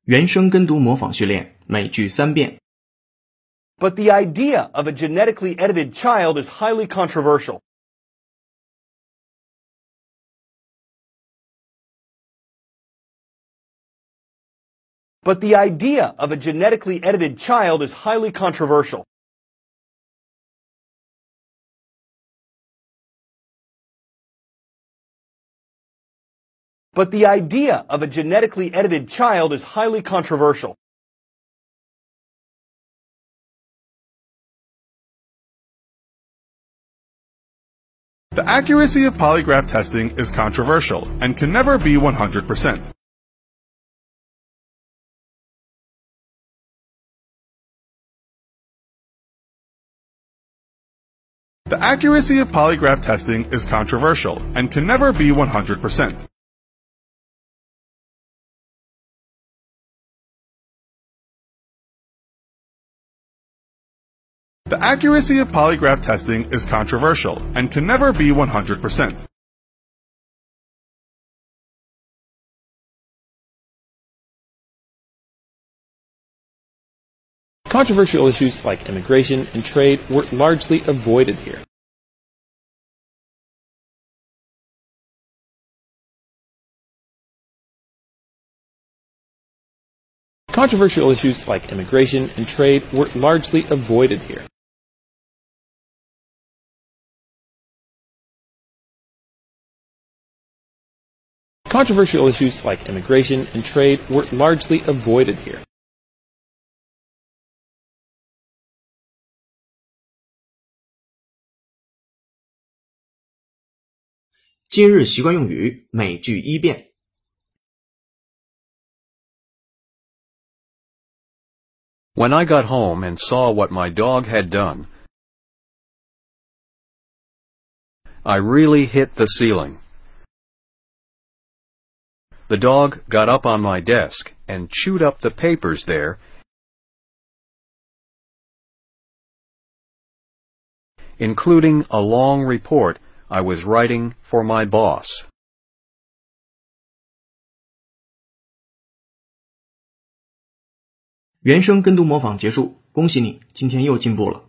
原声跟读模仿训练，每句3遍。 But the idea of a genetically edited child is highly controversial. But the idea of a genetically edited child is highly controversial. But the idea of a genetically edited child is highly controversial. The accuracy of polygraph testing is controversial and can never be 100%. The accuracy of polygraph testing is controversial and can never be 100%. The accuracy of polygraph testing is controversial and can never be 100%. Controversial issues like immigration and trade were largely avoided here. Controversial issues like immigration and trade were largely avoided here. Controversial issues like immigration and trade were largely avoided here. 今日习惯用语，每句1遍。 When I got home and saw what my dog had done, I really hit the ceiling. The dog got up on my desk and chewed up the papers there, including a long report I was writing for my boss. 原声跟读模仿结束，恭喜你，今天又进步了。